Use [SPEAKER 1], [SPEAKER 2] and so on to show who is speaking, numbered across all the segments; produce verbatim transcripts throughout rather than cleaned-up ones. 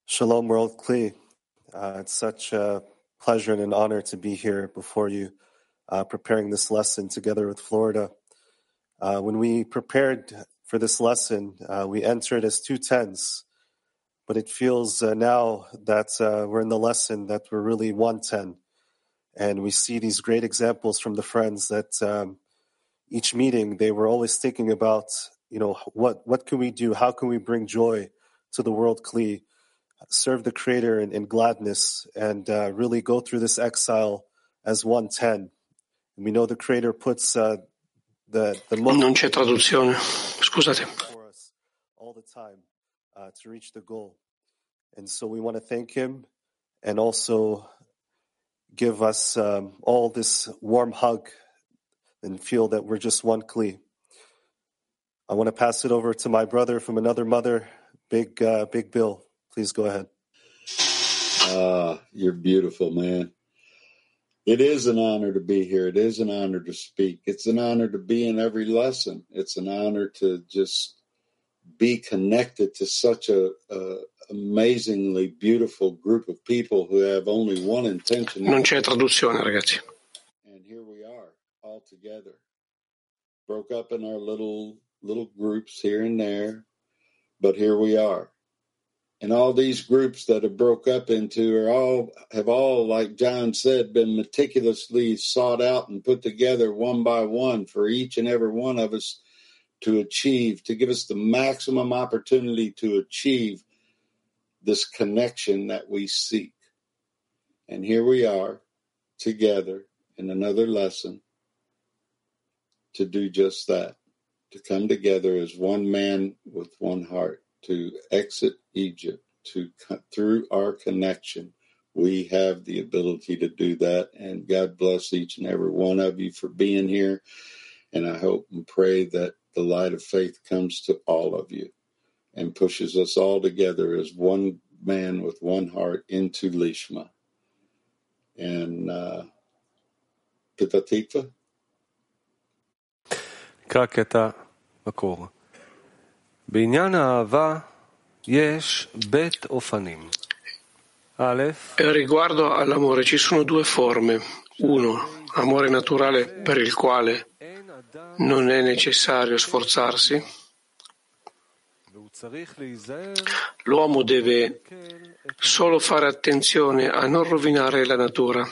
[SPEAKER 1] Shalom, World Kli. Uh, it's such a pleasure and an honor to be here before you, uh, preparing this lesson together with Florida. Uh, when we prepared for this lesson, uh, we entered as two tens, but it feels uh, now that uh, we're in the lesson that we're really one ten. And we see these great examples from the friends that um, each meeting, they were always thinking about, you know, what, what can we do? How can we bring joy to the World Kli? Serve the Creator in, in gladness, and uh, really go through this exile as one ten. And we know the Creator puts uh, the the
[SPEAKER 2] Non c'è traduzione, scusate.
[SPEAKER 1] for us all the time uh, to reach the goal. And so we want to thank Him, and also give us um, all this warm hug, and feel that we're just one Kli. I want to pass it over to my brother from another mother, Big uh, Big Bill. Please go ahead.
[SPEAKER 3] Ah, you're beautiful, man. It is an honor to be here. It is an honor to speak. It's an honor to be in every lesson. It's an honor to just be connected to such a, a amazingly beautiful group of people who have only one intention.
[SPEAKER 2] Non c'è traduzione, ragazzi.
[SPEAKER 3] And here we are, all together. Broke up in our little little groups here and there, but here we are. And all these groups that have broke up into are all have all, like John said, been meticulously sought out and put together one by one for each and every one of us to achieve, to give us the maximum opportunity to achieve this connection that we seek. And here we are together in another lesson to do just that, to come together as one man with one heart, to exit Egypt, to through our connection. We have the ability to do that, and God bless each and every one of you for being here. And I hope and pray that the light of faith comes to all of you and pushes us all together as one man with one heart into Lishma. And uh, Pita Tikva?
[SPEAKER 4] נקרא קטע מקור. בעניין האהבה יש בית אופנים. א',
[SPEAKER 2] Riguardo all'amore ci sono due forme. Uno, amore naturale per il quale non è necessario sforzarsi. L'uomo deve solo fare attenzione a non rovinare la natura.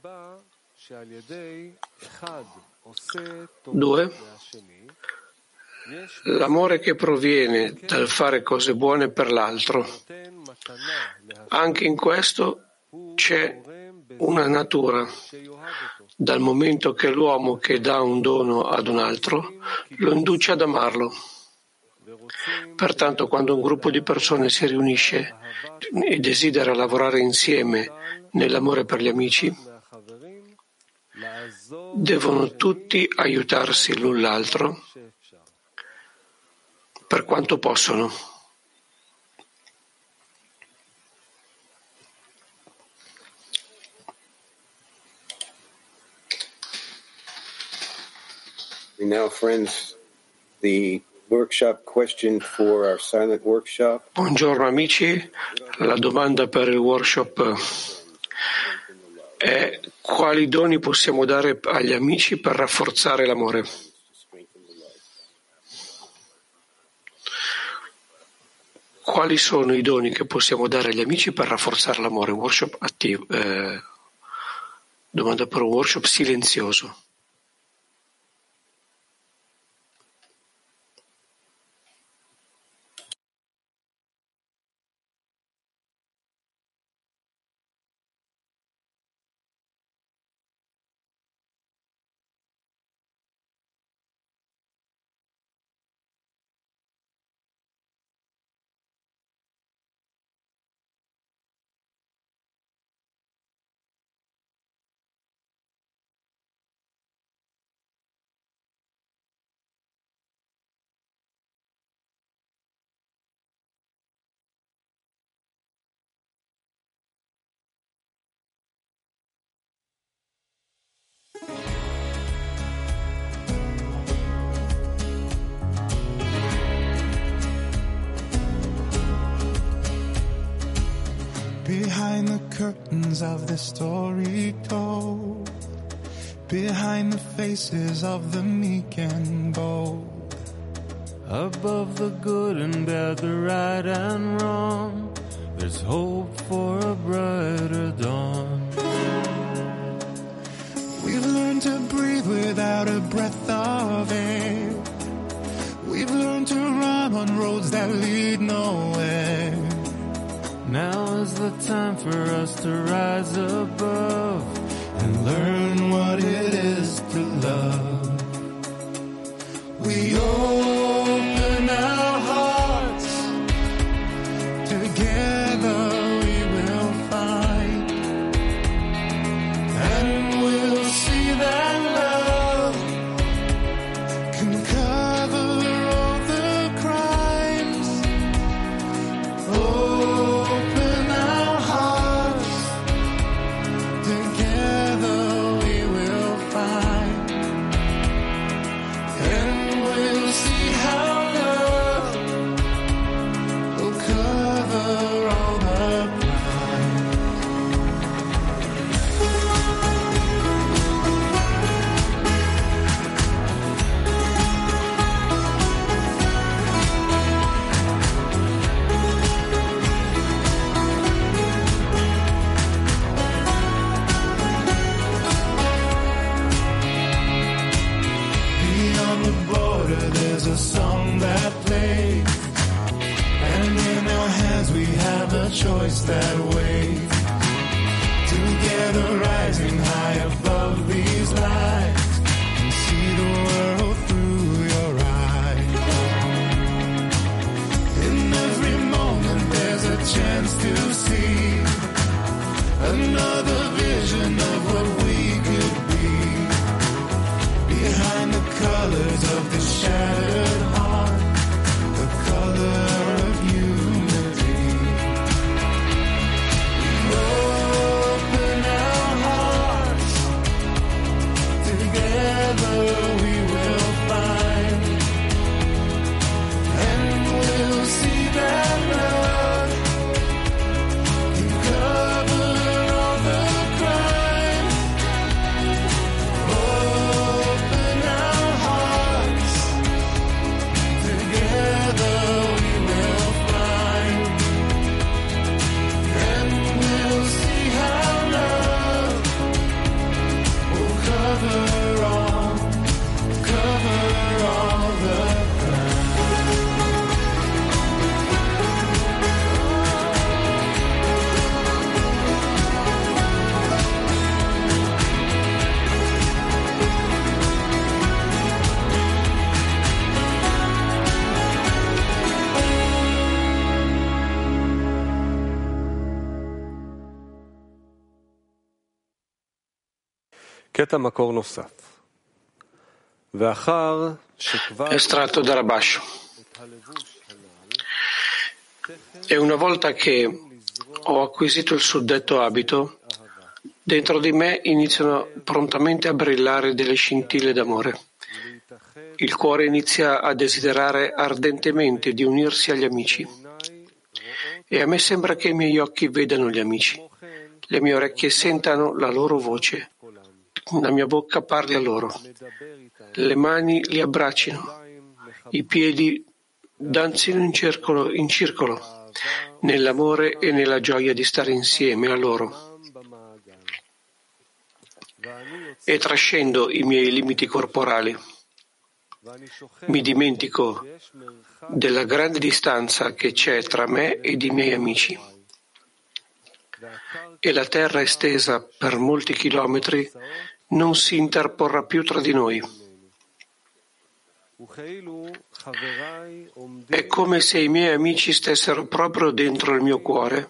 [SPEAKER 2] Due, l'amore che proviene dal fare cose buone per l'altro. Anche in questo c'è una natura, dal momento che l'uomo che dà un dono ad un altro lo induce ad amarlo. Pertanto, quando un gruppo di persone si riunisce e desidera lavorare insieme nell'amore per gli amici, devono tutti aiutarsi l'un l'altro per quanto possono.
[SPEAKER 5] Now, friends, the workshop question for our silent workshop.
[SPEAKER 2] Buongiorno amici, la domanda per il workshop è: quali doni possiamo dare agli amici per rafforzare l'amore? Quali sono i doni che possiamo dare agli amici per rafforzare l'amore? Workshop attivo. Eh, domanda per un workshop silenzioso.
[SPEAKER 6] curtains of the story told, behind the faces of the meek and bold, above the good and bad, the right and wrong, there's hope for a brighter dawn. We've learned to breathe without a breath of air. We've learned to run on roads that lead nowhere. Now is the time for us to rise above and learn what it is to love. We open our hearts, together we will find, and we'll see that love can cover all the crimes. Open our hearts, together we will find, and we'll see how love will cover all the crimes. Beyond the border there's a song that plays, and in our hands we have a choice that waits. Together rising high above these lights, and see the world through your eyes. In every moment there's a chance to see another vision of what we could be. Behind the colors of the shattered heart, the color of unity. We open our hearts, together we will find, and we'll see that love can cover all the crimes. Open our hearts, together we will find, and we'll see how love will cover all, cover all the crimes.
[SPEAKER 4] קטע מקור נוסף. ואחר שכבר
[SPEAKER 2] Estratto da Rabash. E una volta che ho acquisito il suddetto abito, dentro di me iniziano prontamente a brillare delle scintille d'amore. Il cuore inizia a desiderare ardentemente di unirsi agli amici. E a me sembra che i miei occhi vedano gli amici, le mie orecchie sentano la loro voce, la mia bocca parli a loro, le mani li abbraccino, i piedi danzino in circolo, in circolo, nell'amore e nella gioia di stare insieme a loro. E trascendo i miei limiti corporali. Mi dimentico della grande distanza che c'è tra me ed i miei amici. E la terra estesa per molti chilometri non si interporrà più tra di noi. È come se i miei amici stessero proprio dentro il mio cuore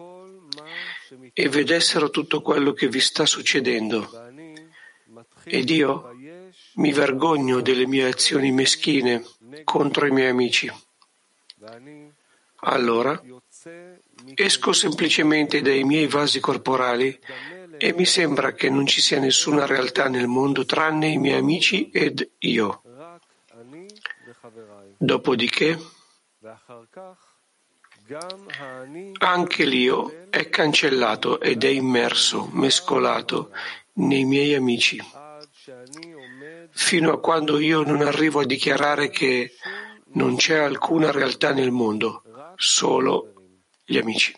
[SPEAKER 2] e vedessero tutto quello che vi sta succedendo. Ed io mi vergogno delle mie azioni meschine contro i miei amici. Allora esco semplicemente dai miei vasi corporali e mi sembra che non ci sia nessuna realtà nel mondo tranne i miei amici ed io. Dopodiché anche l'io è cancellato ed è immerso, mescolato nei miei amici, fino a quando io non arrivo a dichiarare che non c'è alcuna realtà nel mondo, solo gli amici.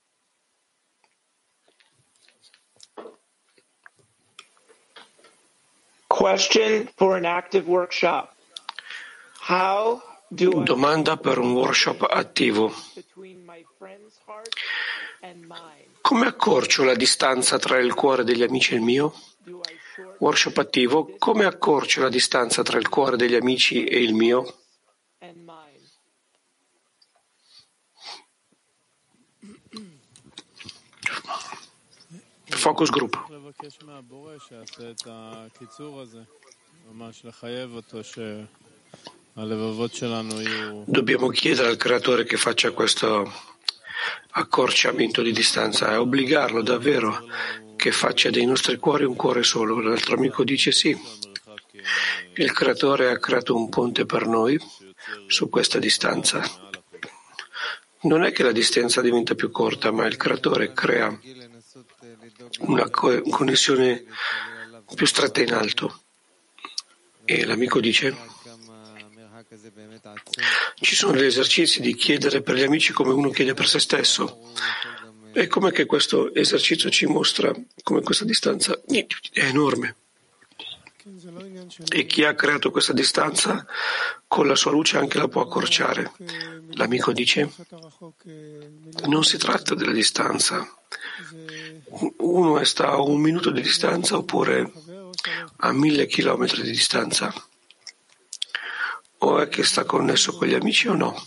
[SPEAKER 7] Question for an active workshop. How do I
[SPEAKER 2] Domanda per un workshop attivo. Come accorcio la distanza tra il cuore degli amici e il mio? Workshop attivo. Come accorcio la distanza tra il cuore degli amici e il mio? Focus group. Dobbiamo chiedere al creatore che faccia questo accorciamento di distanza e obbligarlo davvero che faccia dei nostri cuori un cuore solo. L'altro amico dice sì, il creatore ha creato un ponte per noi su questa distanza. Non è che la distanza diventa più corta, ma il creatore crea una co- connessione più stretta in alto. E l'amico dice: ci sono degli esercizi di chiedere per gli amici come uno chiede per se stesso. E com'è che questo esercizio ci mostra come questa distanza è enorme? E chi ha creato questa distanza con la sua luce anche la può accorciare. L'amico dice: non si tratta della distanza. Uno sta a un minuto di distanza oppure a mille chilometri di distanza. O è che sta connesso con gli amici o no?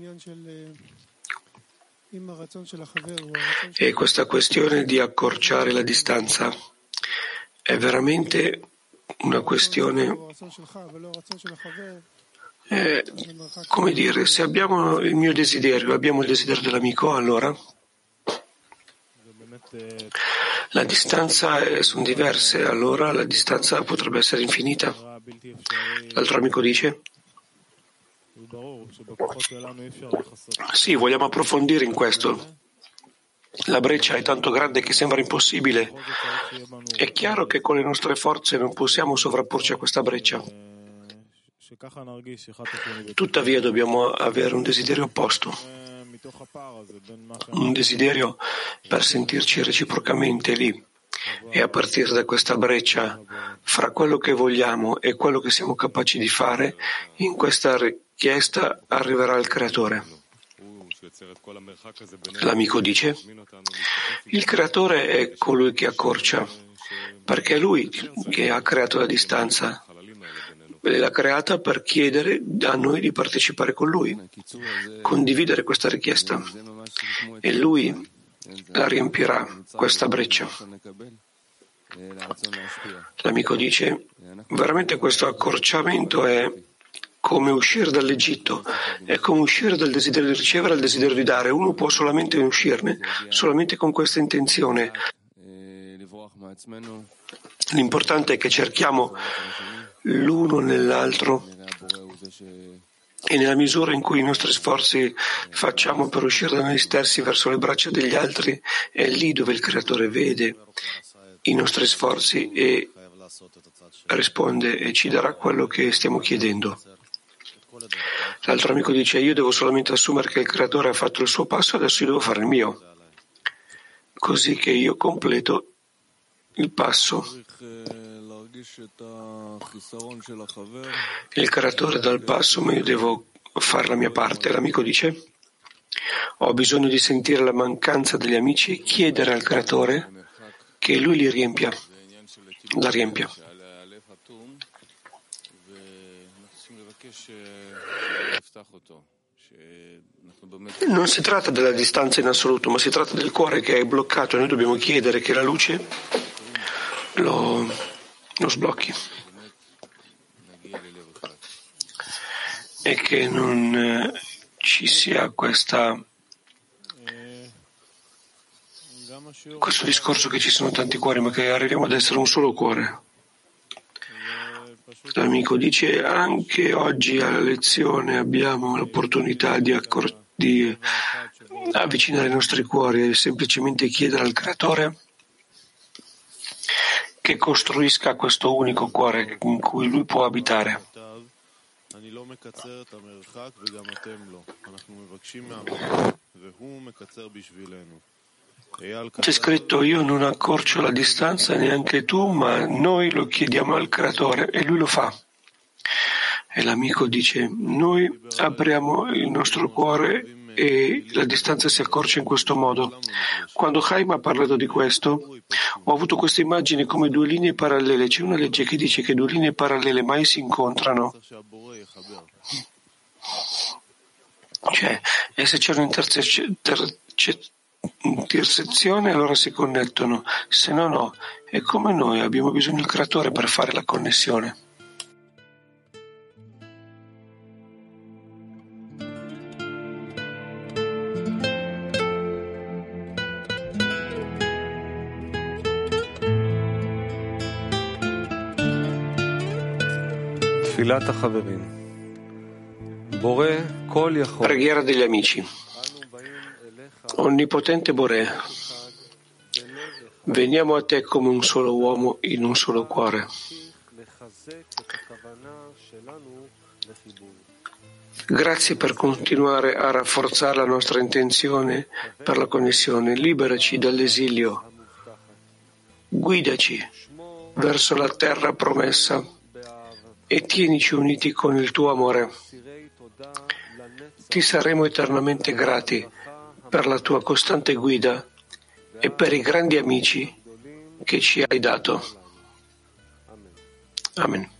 [SPEAKER 2] E questa questione di accorciare la distanza è veramente una questione, eh, come dire, se abbiamo il mio desiderio, abbiamo il desiderio dell'amico, allora la distanza è, sono diverse, allora la distanza potrebbe essere infinita. L'altro amico dice: sì, vogliamo approfondire in questo. La breccia è tanto grande che sembra impossibile. È chiaro che con le nostre forze non possiamo sovrapporci a questa breccia. Tuttavia dobbiamo avere un desiderio opposto, un desiderio per sentirci reciprocamente lì. E a partire da questa breccia fra quello che vogliamo e quello che siamo capaci di fare, in questa richiesta arriverà il creatore. L'amico dice: il creatore è colui che accorcia, perché è lui che ha creato la distanza e l'ha creata per chiedere a noi di partecipare con lui, condividere questa richiesta, e lui la riempirà, questa breccia. L'amico dice: veramente questo accorciamento è come uscire dall'Egitto, è come uscire dal desiderio di ricevere al desiderio di dare. Uno può solamente uscirne, solamente con questa intenzione. L'importante è che cerchiamo l'uno nell'altro e nella misura in cui i nostri sforzi facciamo per uscire da noi stessi verso le braccia degli altri, è lì dove il Creatore vede i nostri sforzi e risponde e ci darà quello che stiamo chiedendo. L'altro amico dice: io devo solamente assumere che il Creatore ha fatto il suo passo, adesso io devo fare il mio, così che io completo il passo. Il Creatore dà il passo, ma io devo fare la mia parte. L'amico dice: ho bisogno di sentire la mancanza degli amici e chiedere al Creatore che lui li riempia, la riempia. Non si tratta della distanza in assoluto, ma si tratta del cuore che è bloccato e noi dobbiamo chiedere che la luce lo, lo sblocchi e che non eh, ci sia questa questo discorso che ci sono tanti cuori, ma che arriviamo ad essere un solo cuore. L'amico dice: anche oggi alla lezione abbiamo l'opportunità di, accor- di avvicinare i nostri cuori e semplicemente chiedere al Creatore che costruisca questo unico cuore in cui Lui può abitare. C'è scritto: io non accorcio la distanza, neanche tu, ma noi lo chiediamo al Creatore e Lui lo fa. E l'amico dice: noi apriamo il nostro cuore e la distanza si accorcia in questo modo. Quando Chaim ha parlato di questo, ho avuto questa immagine come due linee parallele. C'è una legge che dice che due linee parallele mai si incontrano. Cioè, e se c'è un'intersezione allora si connettono, se no no. E come noi abbiamo bisogno del Creatore per fare la connessione. Preghiera degli amici. Onnipotente Boré, veniamo a te come un solo uomo in un solo cuore. Grazie per continuare a rafforzare la nostra intenzione per la connessione. Liberaci dall'esilio. Guidaci verso la terra promessa e tienici uniti con il tuo amore. Ti saremo eternamente grati per la tua costante guida e per i grandi amici che ci hai dato. Amen.